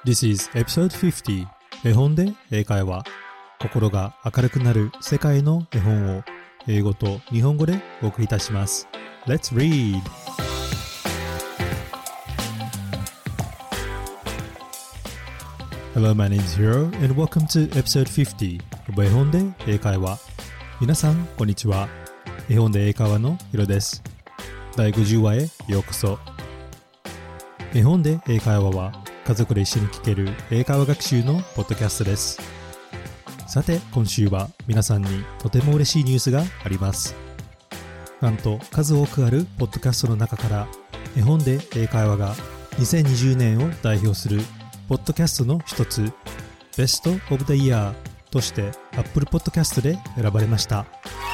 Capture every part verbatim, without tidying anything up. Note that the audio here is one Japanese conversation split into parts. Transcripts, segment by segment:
This is episode fifty 絵本で英会話。心が明るくなる世界の絵本を英語と日本語でお送りいたします。Let's read! Hello, my name is Hiro and welcome to episode fifty 絵本で英会話。皆さん、こんにちは。絵本で英会話のヒロです。だいごじゅうわへようこそ。絵本で英会話は家族で一緒に聞ける英会話学習のポッドキャストです。さて、今週は皆さんにとても嬉しいニュースがあります。なんと数多くあるポッドキャストの中から絵本で英会話がにせんにじゅうねんを代表するポッドキャストの一つ Best of the Year として Apple Podcast で選ばれました。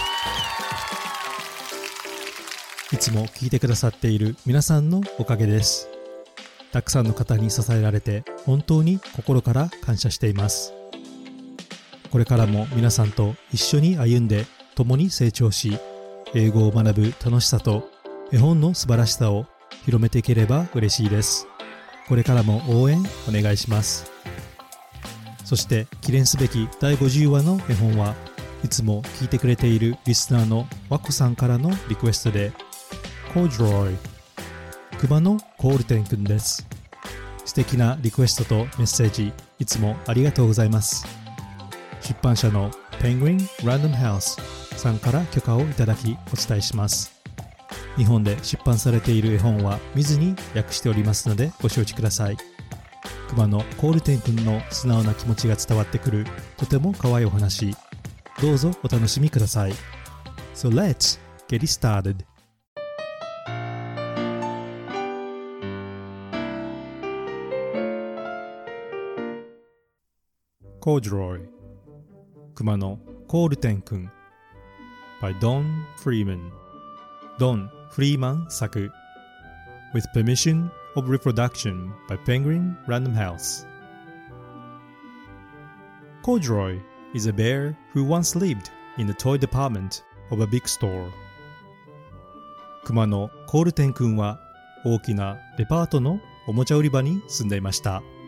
いつも聞いてくださっている皆さんのおかげです。たくさんの方に支えられて本当に心から感謝しています。これからも皆さんと一緒に歩んで共に成長し、英語を学ぶ楽しさと絵本の素晴らしさを広めていければ嬉しいです。これからも応援お願いします。そして記念すべきだいごじゅうわの絵本はいつも聞いてくれているリスナーのワコさんからのリクエストでコージロイ熊のコールテンくんです。素敵なリクエストとメッセージいつもありがとうございます。出版社の Penguin Random House さんから許可をいただきお伝えします。日本で出版されている絵本は見ずに訳しておりますのでご承知ください。熊のコールテンくんの素直な気持ちが伝わってくるとても可愛いお話、どうぞお楽しみください。 So let's get it started. Corduroy 熊のコールテンくん by Don Freeman Don Freeman 作 With permission of reproduction by Penguin Random House. Corduroy is a bear who once lived in the toy department of a big store. 熊のコールテンくんは大きなデパートのおもちゃ売り場に住んでいました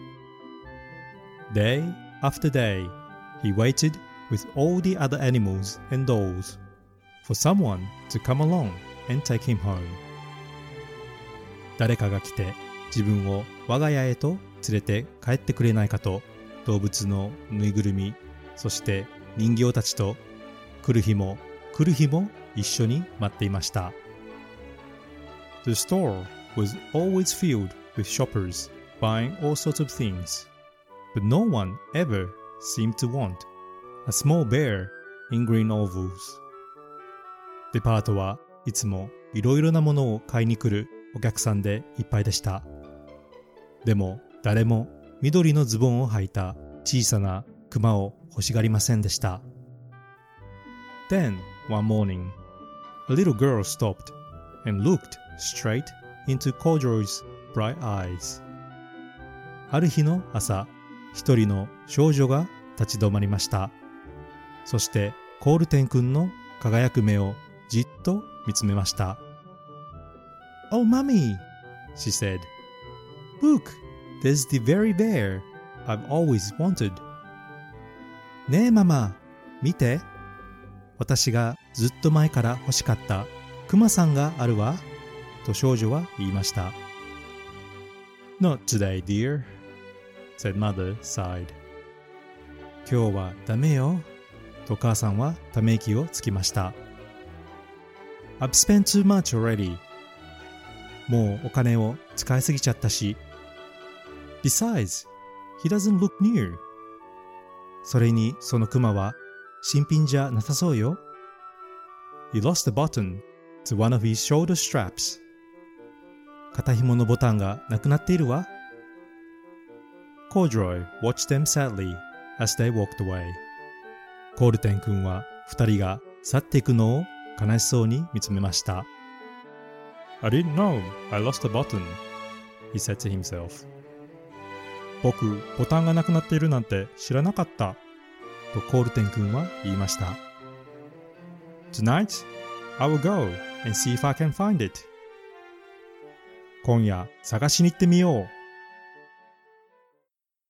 。Day after day, he waited with all the other animals and dolls for someone to come along and take him home. 誰かが来て自分を我が家へと連れて帰ってくれないかと動物のぬいぐるみ、そして人形たちと来る日も来る日も一緒に待っていました。The store was always filled with shoppers buying all sorts of things.But no one ever seemed to want a small bear in green ovals. デパートはいつもいろいろなものを買いに来るお客さんでいっぱいでした。でも誰も緑のズボンを履いた小さなクマを欲しがりませんでした。Then, one morning, a little girl stopped and looked straight into Corduroy's bright eyes. ある日の朝、一人の少女が立ち止まりました。そしてコールテンくんの輝く目をじっと見つめました。Oh, mommy, she said. Look, there's the very bear I've always wanted. ねえママ、見て。私がずっと前から欲しかったクマさんがあるわ。と少女は言いました。Not today, dear.said mother sighed. 今日はダメよと母さんはため息をつきました。I've spent too much already. もうお金を使いすぎちゃったし。Besides, he doesn't look new. それにそのクマは新品じゃなさそうよ。He lost a button to one of his shoulder straps. 肩紐のボタンがなくなっているわ。Corduroy watched them sadly as they walked away. コールテンくんは二人が去っていくのを悲しそうに見つめました。I didn't know I lost a button, he said to himself. 僕、ボタンがなくなっているなんて知らなかった。とコールテンくんは言いました。Tonight, I will go and see if I can find it. 今夜、探しに行ってみよう。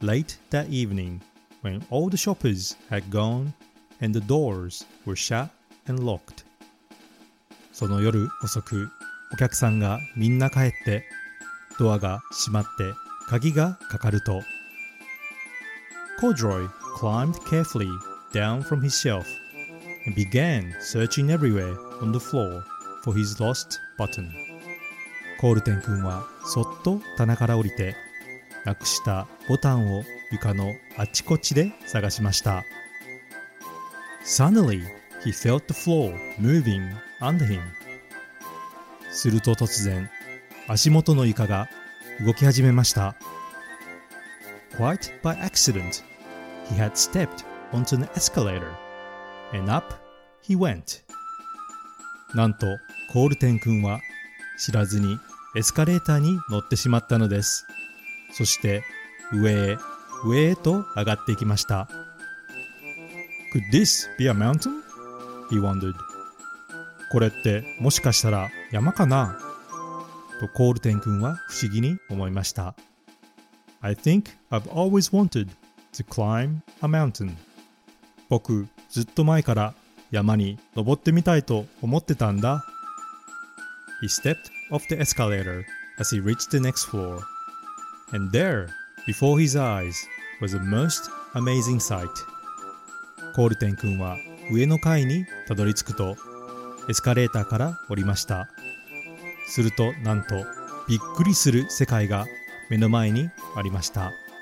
late that evening when all the shoppers had gone and the doors were shut and locked. その夜遅く、お客さんがみんな帰って、ドアが閉まって鍵がかかると、Corduroy climbed carefully down from his shelf and began searching everywhere on the floor for his lost button. コールテン君はそっと棚から降りて、なくしたボタンを床のあちこちで探しました。Suddenly, he felt the floor moving under him. すると突然、足元の床が動き始めました。Quite by accident, he had stepped onto an escalator, and up he went. なんと、コールテン君は知らずにエスカレーターに乗ってしまったのです。そして上へ上へと上がっていきました。Could this be a mountain? He wondered. これってもしかしたら山かなとコールテン君は不思議に思いました。I think I've always wanted to climb a mountain. 僕ずっと前から山に登ってみたいと思ってたんだ。He stepped off the escalator as he reached the next floor. And there, before his eyes, was a most amazing sight. コールテン君は上の階にたどり着くと、エスカレーターから降りました。するとなんとびっくりする世界が目の前にありました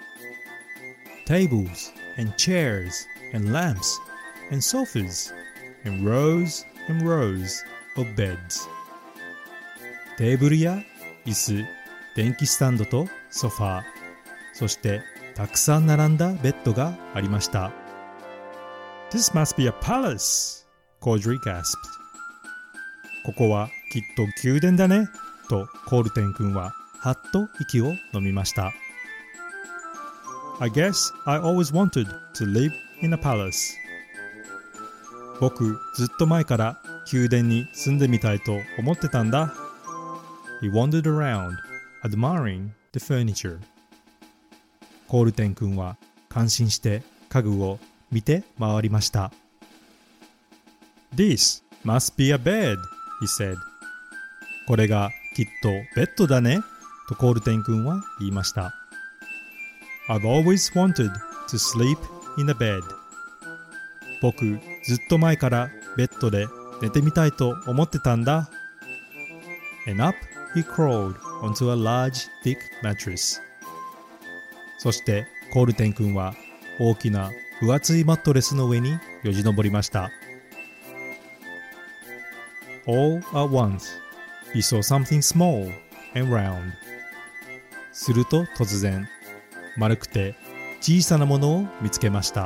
。Tables and chairs and lamps and sofas and rows and rows of beds. テーブルや椅子、電気スタンドとソファー、そしてたくさん並んだベッドがありました。This must be a palace, Corduroy gasped. ここはきっと宮殿だね、とコールテン君ははっと息を飲みました。I guess I always wanted to live in a palace. 僕ずっと前から宮殿に住んでみたいと思ってたんだ。He wandered around, admiring the furniture. コールテン君は感心して家具を見て回りました。This must be a bed, he said. これがきっとベッドだね、とコールテン君は言いました。I've always wanted to sleep in a bed. 僕ずっと前からベッドで寝てみたいと思ってたんだ。And up he crawled onto a large, thick mattress. そしてコールテン君は大きな分厚いマットレスの上によじ登りました。All at once, he saw something small and round. すると突然、丸くて小さなものを見つけました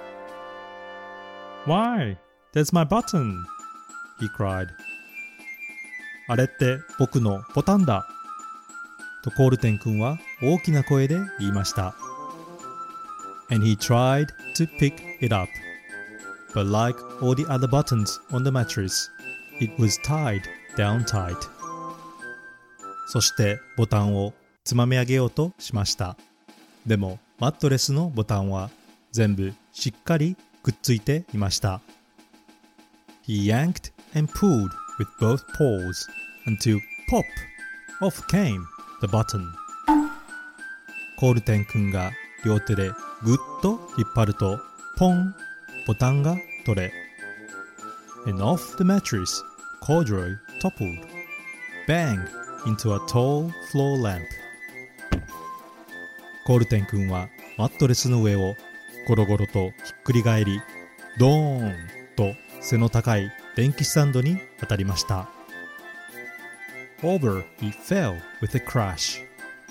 。Why, that's my button, he cried. あれって僕のボタンだ。とコールテン君は大きな声で言いました。And he tried to pick it up. But like all the other buttons on the mattress, it was tied down tight. そしてボタンをつまみ上げようとしました。でもマットレスのボタンは全部しっかりくっついていました。He yanked and pulled with both paws until pop! Off came the button. コールテン君が両手でぐっと引っ張るとポン! ボタンが取れ And off the mattress, Corduroy toppled, bang into a tall floor lamp. コールテン君はマットレスの上をゴロゴロとひっくり返り、ドーンと背の高い電気スタンドに当たりました。Over he fell with a crash.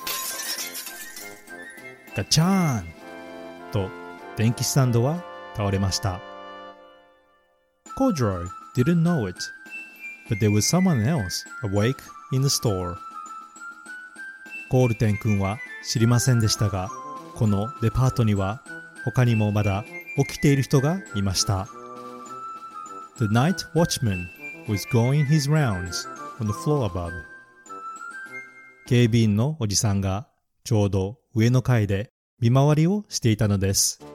ガチャーンと電気スタンドは倒れました。Corduroy didn't know it, but there was someone else awake in the store. コールテン君は知りませんでしたが、このデパートには他にもまだ起きている人がいました。The night watchman was going his rounds on the floor above. 警備員のおじさんがちょうど上の階で見回りをしていたのです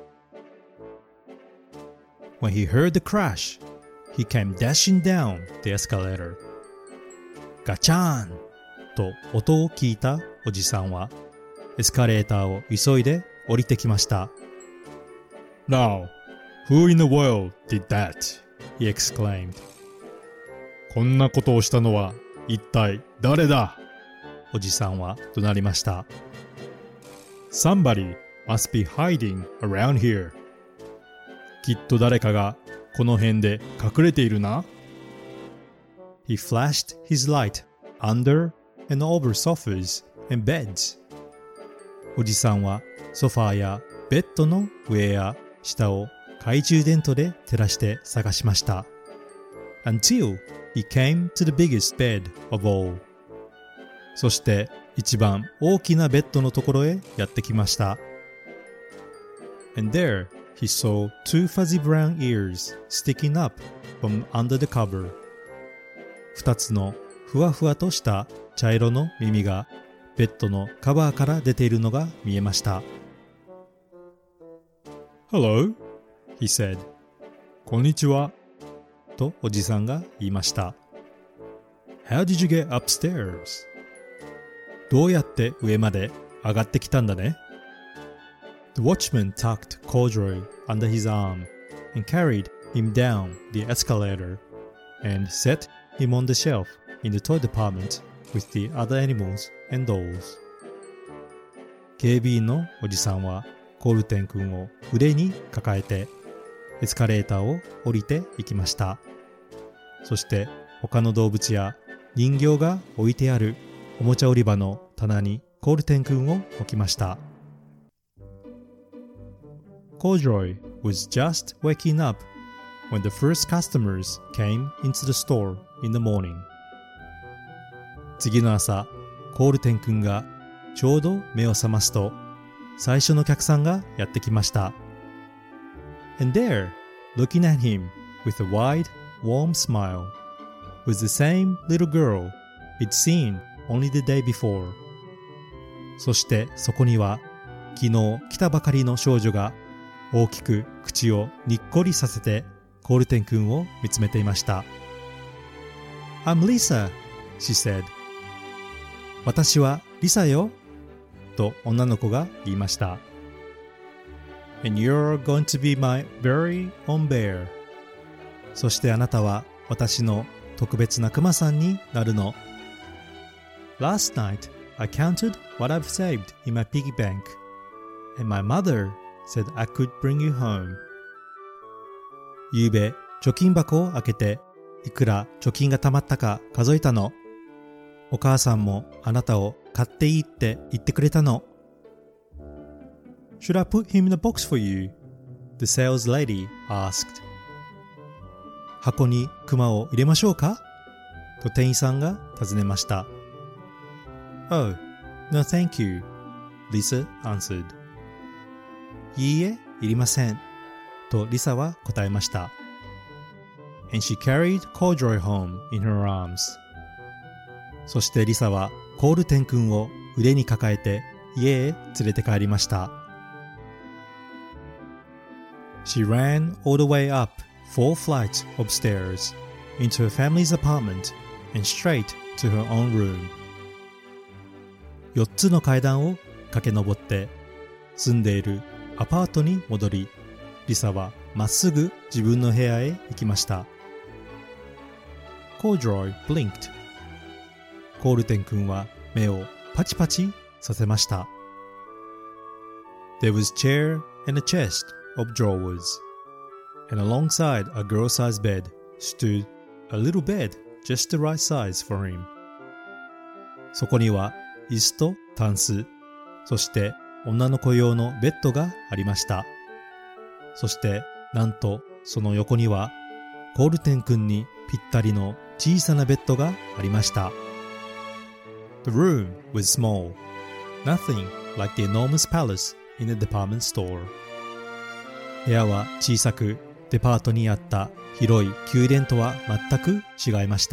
。When he heard the crash, he came dashing down the escalator. ガチャーンと音を聞いたおじさんはエスカレーターを急いで降りてきました。Now, who in the world did that? He exclaimed. こんなことをしたのは一体誰だ？おじさんは怒鳴りました。Somebody must be hiding around here. きっと誰かがこの辺で隠れているな。He flashed his light under and over sofas and beds. おじさんはソファーやベッドの上や下を懐中電灯で照らして探しました。Until he came to the biggest bed of all. そして一番大きなベッドのところへやってきました。And there he saw two fuzzy brown ears sticking up from under the cover. 二つのふわふわとした茶色の耳がベッドのカバーから出ているのが見えました。Hello, he said. こんにちは。とおじさんが言いました。How did you get upstairs? どうやって上まで上がってきたんだね。The watchman tucked Corduroy under his arm and carried him down the escalator and set him on the shelf in the toy department with the other animals and dolls. 警備員のおじさんはコールテン君を腕に抱えてエスカレーターを降りていきました。そして他の動物や人形が置いてあるおもちゃ売り場の棚にコールテン君を置きました。Corduroy was just waking up when the first customers came into the store in the morning. 次の朝、コールテン君がちょうど目を覚ますと、最初のお客さんがやってきました。And there, looking at him with a wide, warm smile, was the same little girl he'd seen only the day before. そしてそこには、昨日来たばかりの少女が大きく口をにっこりさせてコールテン君を見つめていました。I'm Lisa, she said. 私はリサよ。と女の子が言いました。And you're going to be my very own bear. そしてあなたは私の特別なクマさんになるの。Last night, I counted what I've saved in my piggy bank, and my mother said I could bring you home. ゆうべ、貯金箱を開けて、いくら貯金が貯まったか数えたの。お母さんもあなたを買っていいって言ってくれたの。Should I put him in a box for you? The sales lady asked. 箱にクマを入れましょうかと店員さんが尋ねました。Oh, no thank you, Lisa answered. いいえ、いりません。とリサは答えました。And she carried Corduroy home in her arms. そしてリサはコールテン君を腕に抱えて家へ連れて帰りました。She ran all the way up four flights of stairs into her family's apartment and straight to her own room. 四つの階段を駆け上って住んでいるアパートに戻り、リサはまっすぐ自分の部屋へ行きました。Corduroy blinked. コールテン君は目をパチパチさせました。There was chair and a chest of drawers, and alongside a girl-sized bed stood a little bed just the right size for him. そこには椅子とタンス、そして女の子用のベッドがありました。そしてなんとその横にはコールテン君にぴったりの小さなベッドがありました。The room was small, nothing like the enormous palace in the department store. 部屋は小さく、デパートにあった広い宮殿とは全く違いました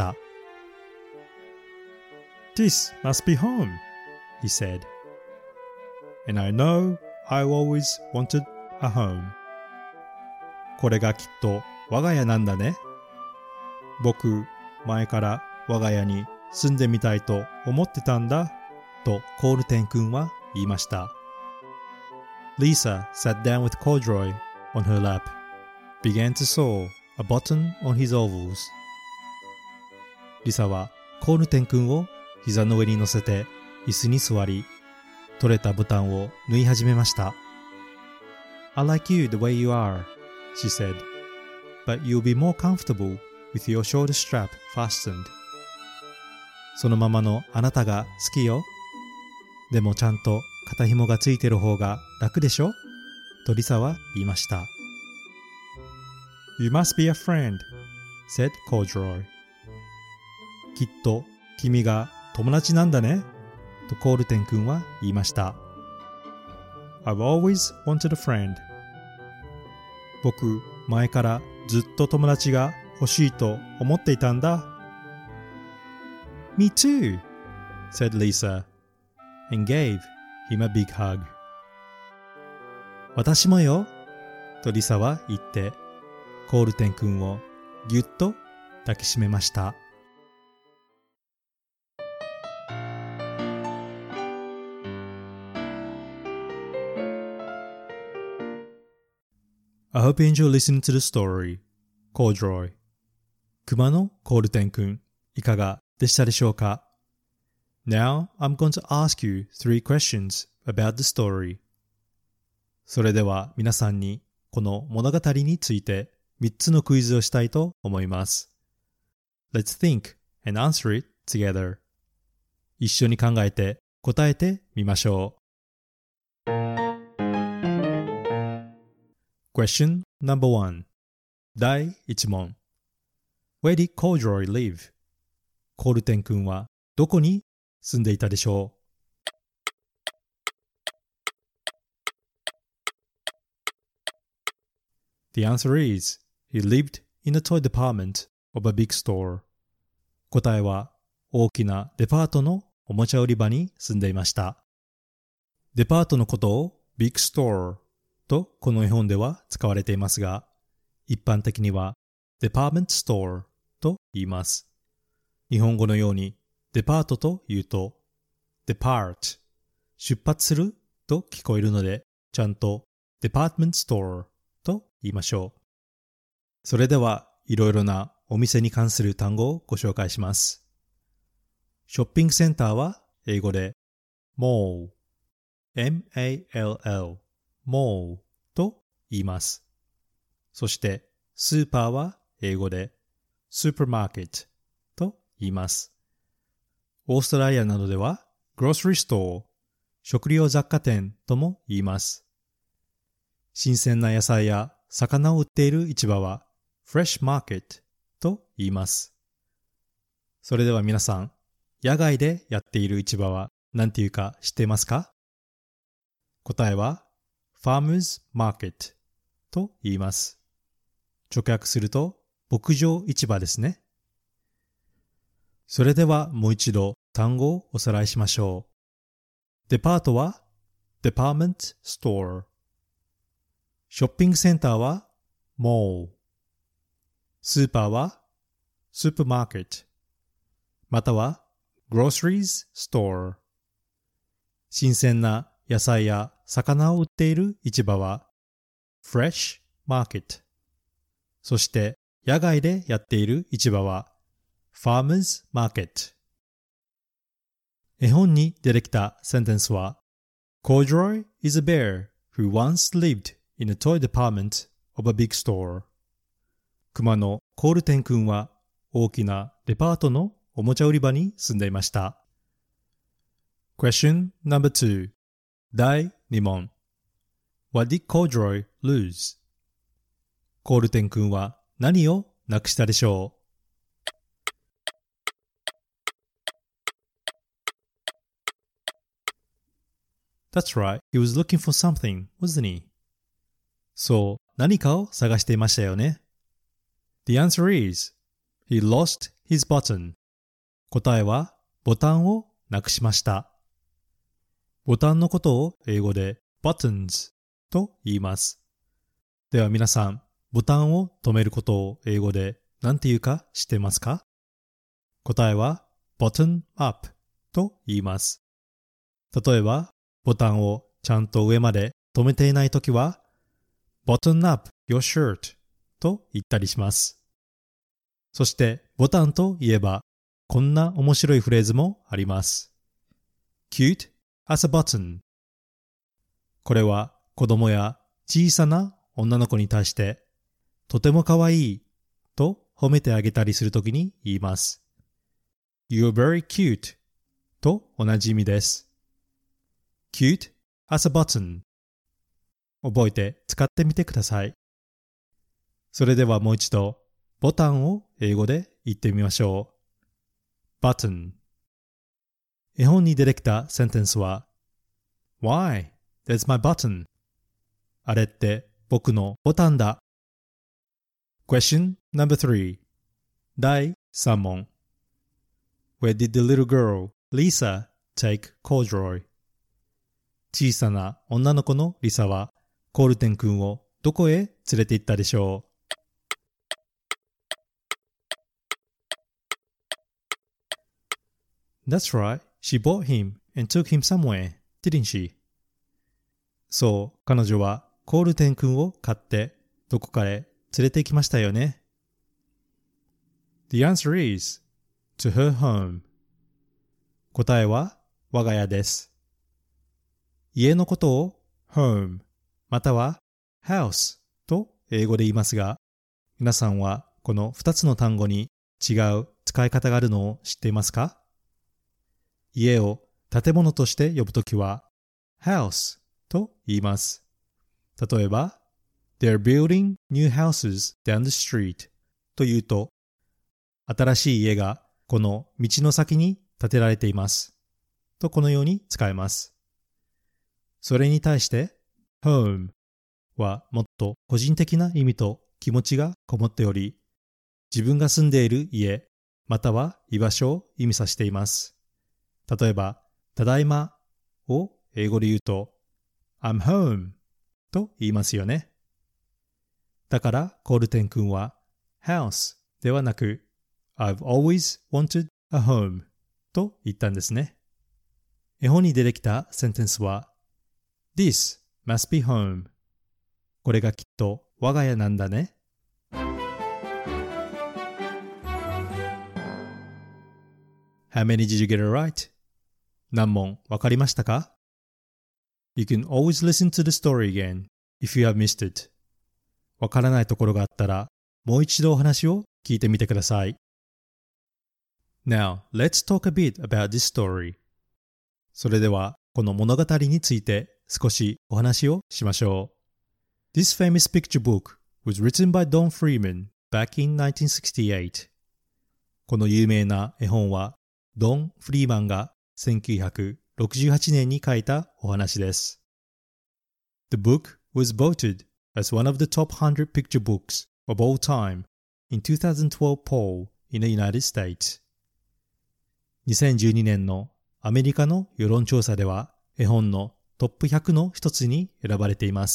。This must be home, he said. And I know I always wanted a home. これがきっと我が家なんだね。僕、前から我が家に住んでみたいと思ってたんだ、とコールテン君は言いました。Lisa sat down with Corduroy on her lap, began to sew a button on his overalls. リサはコールテン君を膝の上に乗せて椅子に座り、取れたボタンを縫い始めました。I like you the way you are, she said, but you'll be more comfortable with your shoulder strap fastened. そのままのあなたが好きよ。でもちゃんと肩紐がついてる方が楽でしょとリサは言いました。You must be a friend, said Corduroy. きっと君が友達なんだねとコールテン君は言いました。I've always wanted a friend. 僕、前からずっと友達が欲しいと思っていたんだ。Me too, said Lisa, and gave him a big hug. 私もよ、とリサは言って、コールテン君をぎゅっと抱きしめました。I hope you enjoy listening to the story, Corduroy. 熊のコールテン君、いかがでしたでしょうか？ Now, I'm going to ask you three questions about the story. それでは皆さんにこの物語についてみっつのクイズをしたいと思います。Let's think and answer it together. 一緒に考えて答えてみましょう。Question number one. 第一問。Where did Corduroy live? コールテン君はどこに住んでいたでしょう？ The answer is, he lived in the toy department of a big store. 答えは、大きなデパートのおもちゃ売り場に住んでいました。デパートのことを Big Storeとこの絵本では使われていますが、一般的には Department Store と言います。日本語のようにデパートと言うと Depart 出発すると聞こえるので、ちゃんと Department Store と言いましょう。それではいろいろなお店に関する単語をご紹介します。ショッピングセンターは英語で MallエムエーエルエルMall と言います。そしてスーパーは英語で Supermarket と言います。オーストラリアなどでは Grocery Store 食料雑貨店とも言います。新鮮な野菜や魚を売っている市場は Fresh Market と言います。それでは皆さん、野外でやっている市場は何ていうか知っていますか？答えはFarmers Market と言います。直訳すると牧場市場ですね。それではもう一度単語をおさらいしましょう。デパートは Department Store。ショッピングセンターは Mall。スーパーは Supermarket。または Groceries Store。新鮮な野菜や魚を売っている市場は Fresh Market。そして野外でやっている市場は Farmers Market。絵本に出てきたセンテンスは Corduroy is a bear who once lived in a toy department of a big store。熊のコールテン君は大きなデパートのおもちゃ売り場に住んでいました。Question number two。第二問。What did Corduroy lose? コールテン君は何をなくしたでしょう？ That's right, he was looking for something, wasn't he? そう、何かを探していましたよね。The answer is, he lost his button. 答えは、ボタンをなくしました。ボタンのことを英語で buttons と言います。では皆さん、ボタンを止めることを英語で何て言うか知ってますか？答えは button up と言います。例えば、ボタンをちゃんと上まで止めていないときは button up your shirt と言ったりします。そしてボタンといえばこんな面白いフレーズもあります。cute as a button。これは子供や小さな女の子に対してとてもかわいいと褒めてあげたりするときに言います。You're very cute と同じ意味です。cute as a button。覚えて使ってみてください。それではもう一度ボタンを英語で言ってみましょう。button。絵本に出てきたセンテンスは Why? That's my button. あれって僕のボタンだ。Question number three。 第三問。 Where did the little girl, Lisa, take corduroy? 小さな女の子のリサはコールテン君をどこへ連れて行ったでしょう？ That's right. She bought him and took him somewhere, didn't she? そう、彼女はコールテン君を買ってどこかへ連れて行きましたよね。The answer is to her home。 答えは我が家です。家のことを home または house と英語で言いますが、皆さんはこのふたつの単語に違う使い方があるのを知っていますか？家を建物として呼ぶときは house と言います。例えば They're building new houses down the street というと、新しい家がこの道の先に建てられていますとこのように使えます。それに対して home はもっと個人的な意味と気持ちがこもっており、自分が住んでいる家または居場所を意味させています。例えば、ただいまを英語で言うと I'm home と言いますよね。だからコールテン君は house ではなく I've always wanted a home と言ったんですね。絵本に出てきたセンテンスは This must be home。 これがきっと我が家なんだね。How many did you get it right? 何問わかりましたか？ You can always listen to the story again if you have missed it。 わからないところがあったらもう一度お話を聞いてみてください。Now, let's talk a bit about this story。 それではこの物語について少しお話をしましょう。This famous picture book was written by Don Freeman back in nineteen sixty-eight。 この有名な絵本はドン・フリーマンがせんきゅうひゃくろくじゅうはちねんに書いたお話です。The book was voted as one of the top one hundred picture books of all time in twenty twelve poll in the United States。 にせんじゅうにねんのアメリカの世論調査では絵本のトップひゃくの一つに選ばれています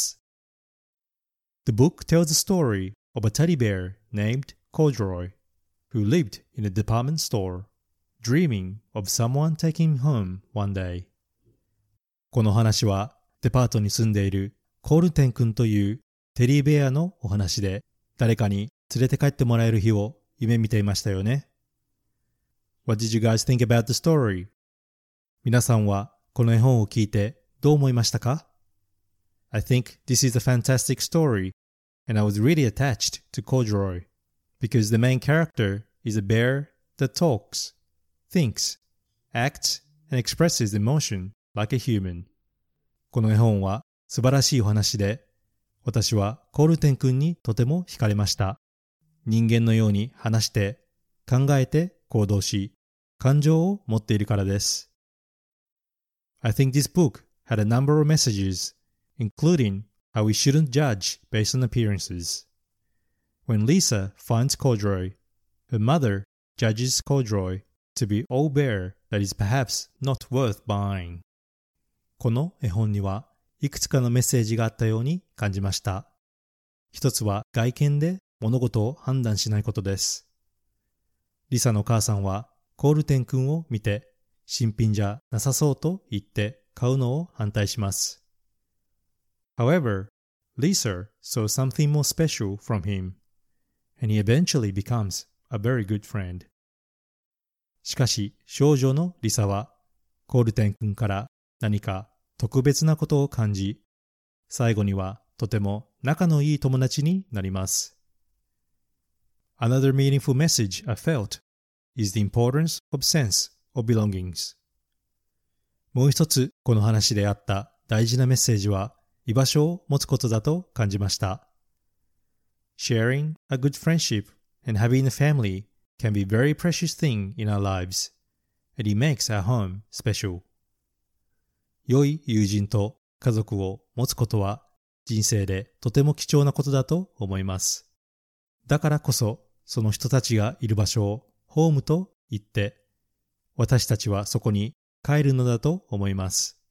。The book tells the story of a teddy bear named Corduroy who lived in a department store.Dreaming of someone taking him home one day。 この話はデパートに住んでいるコールテン君というテディベアのお話で、誰かに連れて帰ってもらえる日を夢見ていましたよね。 What did you guys think about the story? 皆さんはこの絵本を聞いてどう思いましたか？ I think this is a fantastic story and I was really attached to Corduroy because the main character is a bear that talks.thinks, acts, and expresses emotion like a human。 この絵本は素晴らしいお話で、私はコールテン君にとても惹かれました。人間のように話して、考えて行動し、感情を持っているからです。I think this book had a number of messages, including how we shouldn't judge based on appearances. When Lisa finds Corduroy, her mother judges Corduroy.to be all bear that is perhaps not worth buying。 この絵本にはいいくつかのメッセージがあったように感じました。一つは外見で物事を判断しないことです。リサの母さんはコールテン君を見て新品じゃなさそうと言って買うのを反対します。However, Lisa saw something more special from him, and he eventually becomes a very good friend. しかし少女のリサはコールテン君から何か特別なことを感じ、最後にはとても仲のいい友達になります。Another meaningful message I felt is the importance of sense of belongings. もう一つこの話であった大事なメッセージは居場所を持つことだと感じました。Sharing a good friendship and having a family can be a very precious thing in our lives, and it makes our home special. 良い友人と家族を持つことは人生でとても貴重なことだと思います。だからこそその人たちがいる場所をホームと言って、私たちはそこに帰るのだと思います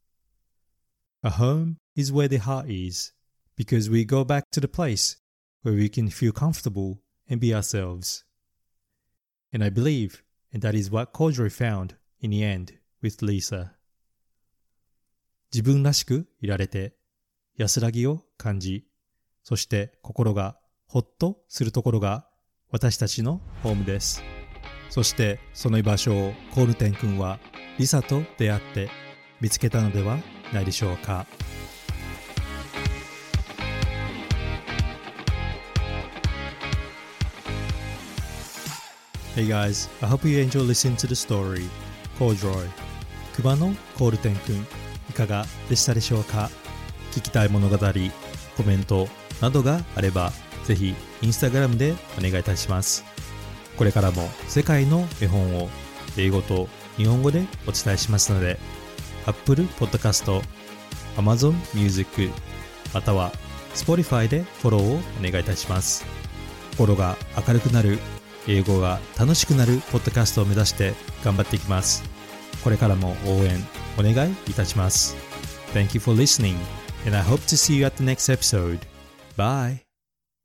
。A home is where the heart is, because we go back to the place where we can feel comfortable and be ourselves. And I believe, and that is what Kodroi found in the end with Lisa. 自分らしくいられて、安らぎを感じ、そして心がほっとするところが私たちのホームです。そしてその居場所をコールテン君はリサと出会って見つけたのではないでしょうか。Hey guys, I hope you enjoy listening to the story, Kodroi. 熊のコールテン君、いかがでしたでしょうか。聞きたい物語、コメントなどがあれば、ぜひインスタグラムでお願いいたします。これからも世界の絵本を英語と日本語でお伝えしますので、Apple Podcast、Amazon Music、または Spotify でフォローをお願いいたします。心が明るくなる、英語が楽しくなるポッドキャストを目指して頑張っていきます。これからも応援お願いいたします。Thank you for listening, and I hope to see you at the next episode. Bye!